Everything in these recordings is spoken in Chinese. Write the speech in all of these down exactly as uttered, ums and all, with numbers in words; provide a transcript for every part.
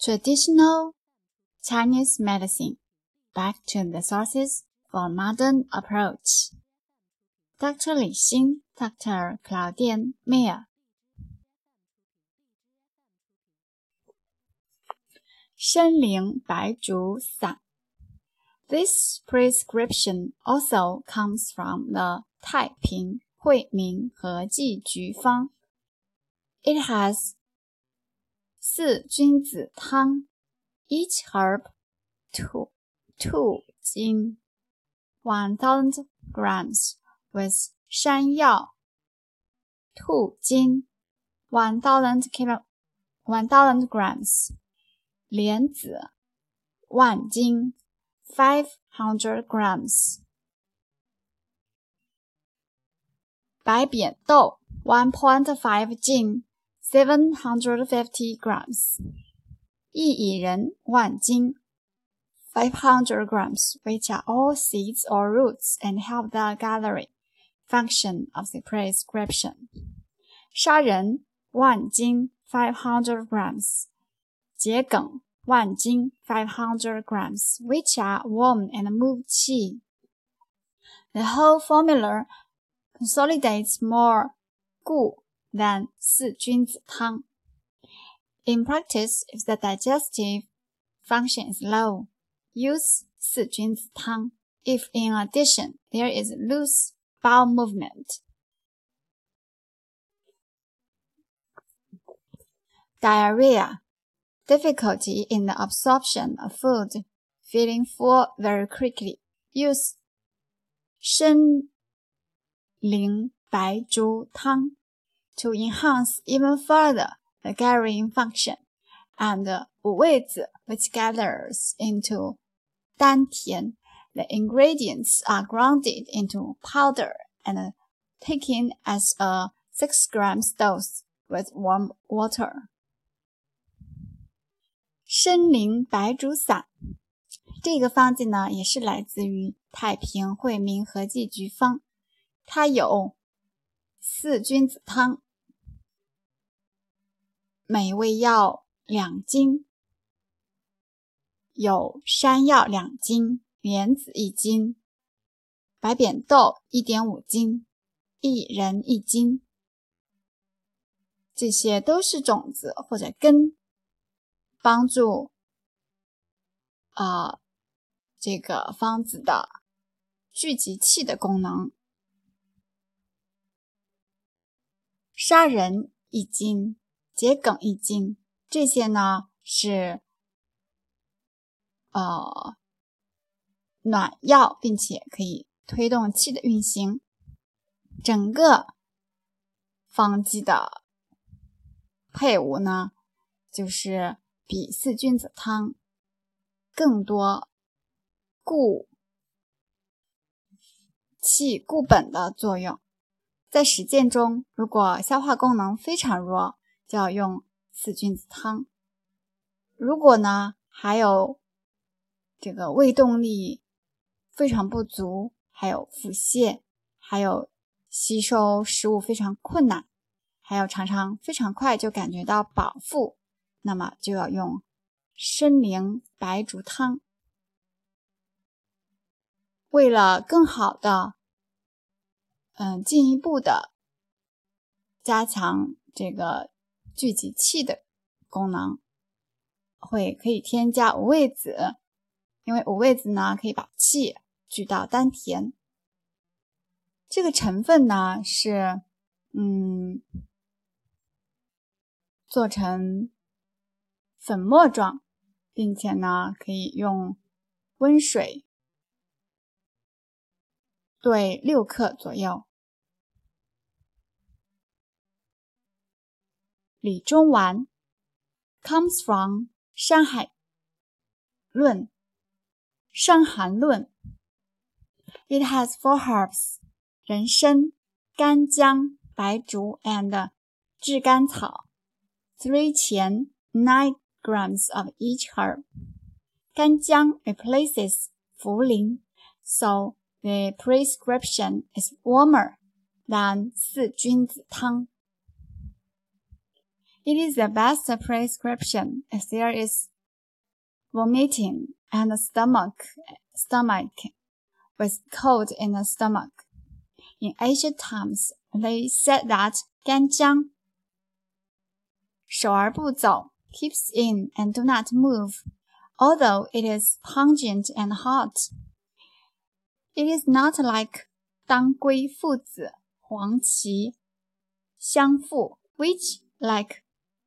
Traditional Chinese medicine. Back to the sources for modern approach. Doctor Li Xin, Doctor Claudine Meyer. 参苓白术散 This prescription also comes from the 太平惠民和剂局方 It has 四君子汤 Each herb two, two 斤 one thousand grams with 山药 two 斤 one thousand kilo, one thousand grams 莲子万斤 five hundred grams 白扁豆 one point five 斤 seven hundred fifty grams 薏苡仁万斤 five hundred grams which are all seeds or roots and help the gathering function of the prescription 砂仁万斤 five hundred grams 桔梗万斤 five hundred grams which are warm and move qi. The whole formula consolidates more 固 than 四君子汤. In practice, if the digestive function is low, use 四君子汤 if in addition there is loose bowel movement. Diarrhea. Difficulty in the absorption of food, feeling full very quickly. Use 参苓白术汤 to enhance even further the carrying function, and 五味子 which gathers into 丹田. The ingredients are grounded into powder and taken as a six grams dose with warm water. 参苓白术散这个方剂呢也是来自于太平惠民和剂局方，它有四君子汤，每味药两斤，有山药两斤，莲子一斤，白扁豆 一点五 斤，薏仁一斤，这些都是种子或者根，帮助呃这个方子的聚集气的功能。砂仁一斤，桔梗一斤，这些呢是呃暖药，并且可以推动气的运行。整个方剂的配伍呢，就是比四君子汤更多固气固本的作用。在实践中，如果消化功能非常弱，就要用四君子汤。如果呢还有这个胃动力非常不足，还有腹泻，还有吸收食物非常困难，还有常常非常快就感觉到饱腹，那么就要用参苓白术汤。为了更好的嗯，进一步的加强这个聚集气的功能，会可以添加五味子，因为五味子呢可以把气聚到丹田。这个成分呢是嗯做成粉末状，并且呢可以用温水兑六克左右。理中丸 comes from 山海论伤寒论 It has four herbs 人参、干姜、白术 and 炙甘草 three 钱 nine grams of each herb 干姜 replaces 茯苓 so the prescription is warmer than 四君子汤 It is the best prescription if there is vomiting, and stomach stomach with cold in the stomach. In ancient times, they said that 干姜手而不走 keeps in and do not move, although it is pungent and hot. It is not like 当归、附子、黄芪、香附 which like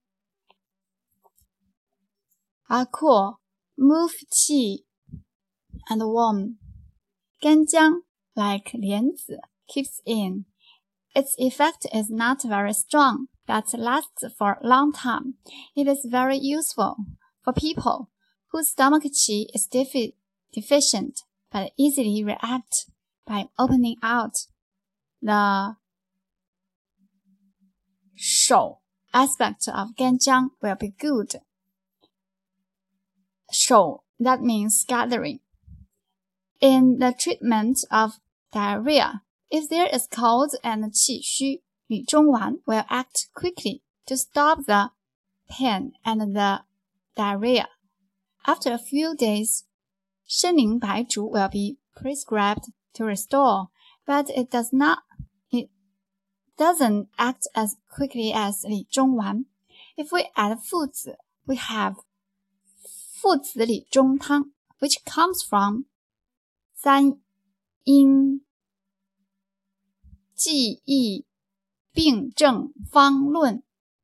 are cool, move qi and warm. 干姜 like 莲子 keeps in. Its effect is not very strong, but lasts for a long time. It is very useful for people whose stomach qi is defi deficient, but easily react by opening out. The 手 aspect of 干姜 will be good. 手 that means gathering. In the treatment of diarrhea, if there is cold and 气虚, 理中丸 will act quickly to stop the pain and the diarrhea. After a few days, 参苓白术 will be prescribed to restore, but it does not it doesn't act as quickly as 理中丸. If we add 附子, we have 附子理中汤, which comes from 三阴记忆病症方论.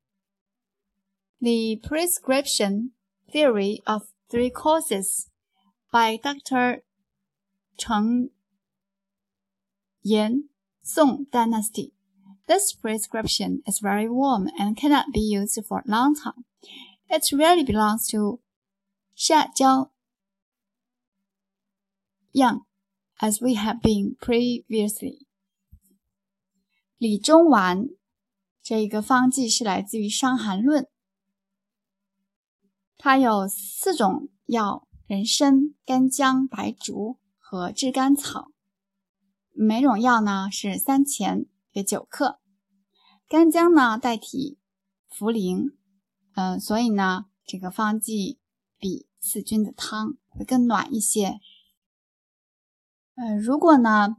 The prescription theory of three courses by Doctor Cheng Yan, Song Dynasty. This prescription is very warm and cannot be used for a long time. It really belongs to 下焦样 as we have been previously. 理中丸这一个方剂是来自于《伤寒论》，它有四种药：人参、干姜、白术和炙甘草。每种药呢是三钱，约九克。干姜呢代替茯苓，嗯、呃，所以呢这个方剂比四君子汤会更暖一些。呃，如果呢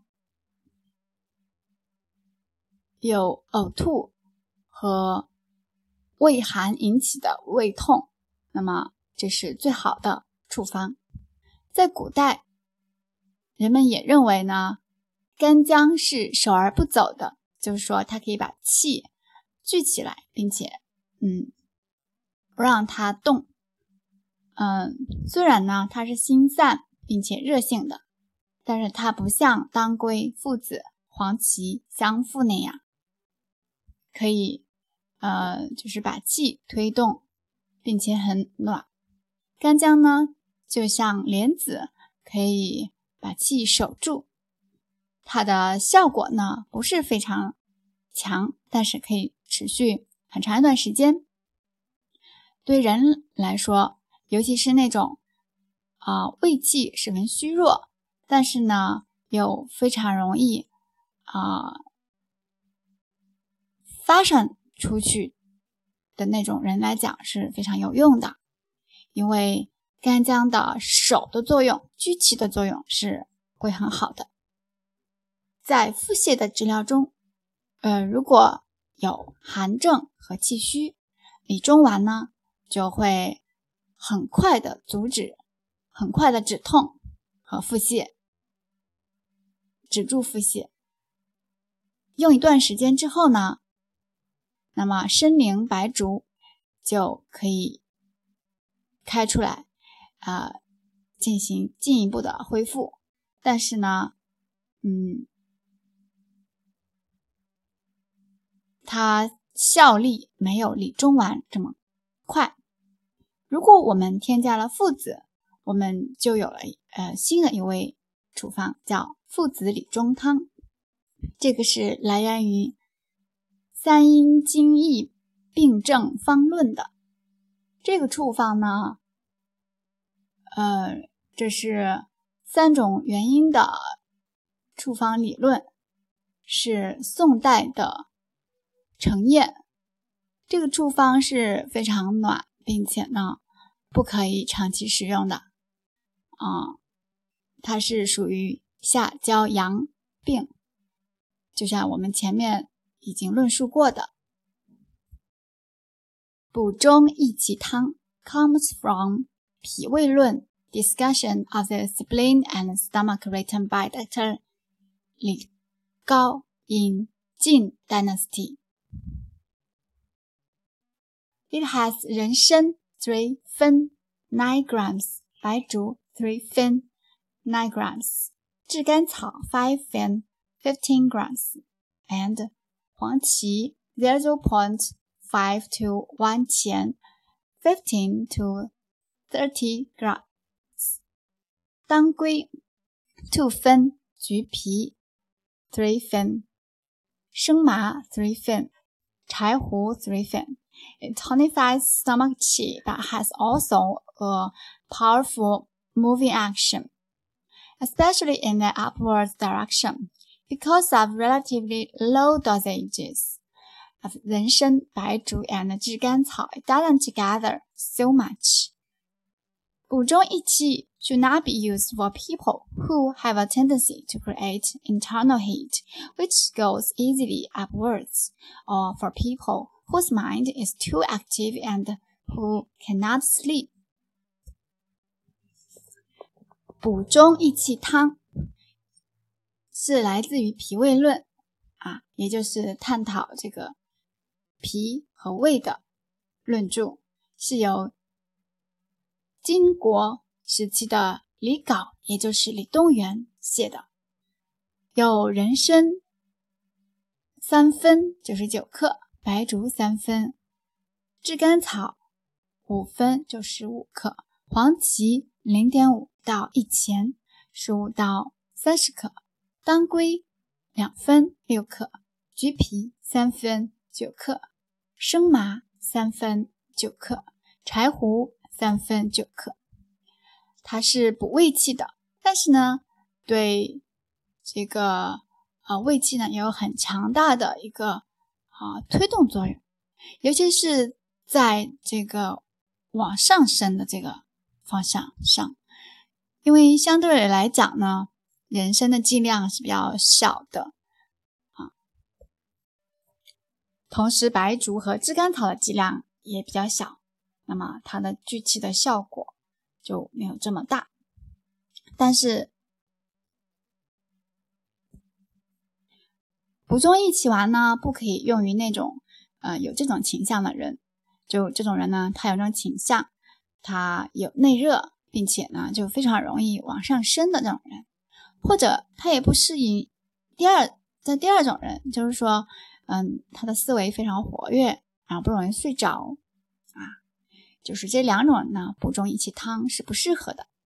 有呕吐和胃寒引起的胃痛，那么这是最好的处方。在古代，人们也认为呢，干姜是守而不走的，就是说它可以把气聚起来，并且嗯不让它动。嗯，虽然呢它是心散并且热性的，但是它不像当归、附子、黄芪、香附那样可以呃就是把气推动并且很暖。干姜呢就像莲子，可以把气守住，它的效果呢不是非常强，但是可以持续很长一段时间。对人来说，尤其是那种啊、呃、胃气十分虚弱，但是呢又非常容易啊、呃、发散出去的那种人来讲是非常有用的。因为干姜的守的作用，聚气的作用是会很好的。在腹泻的治疗中，呃，如果有寒症和气虚，理中丸呢就会很快的阻止，很快的止痛和腹泻，止住腹泻。用一段时间之后呢，那么参苓白术就可以开出来啊、呃，进行进一步的恢复。但是呢，嗯，它效力没有理中丸这么快。如果我们添加了附子，我们就有了呃新的一味处方，叫附子理中汤。这个是来源于三阴经义病症方论的。这个处方呢，呃，这是三种原因的处方理论，是宋代的程砚。这个处方是非常暖，并且呢， 不可以长期食用的。啊、嗯，它是属于下焦阳病，就像我们前面已经论述过的。补中益气汤 comes from 脾胃论 discussion of the spleen and stomach written by Doctor Li Gao in Jin Dynasty. It has 人参three 分 nine grams, 白术three 分 nine grams, 炙甘草five 分 fifteen grams, and 黄芪zero point five to one 钱 fifteen to thirty grams, 当归two 分，橘皮three 分，生麻three 分，柴胡three 分。It tonifies stomach qi but has also a powerful moving action, especially in the upward direction, because of relatively low dosages of 人参, 白术 and 炙甘草. It doesn't together so much. 补中益气 should not be used for people who have a tendency to create internal heat, which goes easily upwards, or for people whose mind is too active and who cannot sleep. 补中益气汤是来自于脾胃论啊，也就是探讨这个脾和胃的论著，是由金国时期的李杲，也就是李东垣写的。有人参三分九十九克，白术三分，炙甘草五分就十五克，黄芪 零点五 到一钱十五到三十克，当归两分六克，橘皮三分九克，生麻三分九克，柴胡三分九克。它是补胃气的，但是呢对这个呃胃气呢也有很强大的一个啊、呃、推动作用，尤其是在这个往上升的这个方向上，因为相对来讲呢人参的剂量是比较小的啊，同时白术和炙甘草的剂量也比较小，那么它的聚气的效果就没有这么大。但是补中益气丸呢不可以用于那种呃有这种倾向的人，就这种人呢他有这种倾向，他有内热并且呢就非常容易往上升的这种人，或者他也不适应第二在第二种人，就是说嗯他的思维非常活跃，然后不容易睡着啊，就是这两种人呢补中益气汤是不适合的。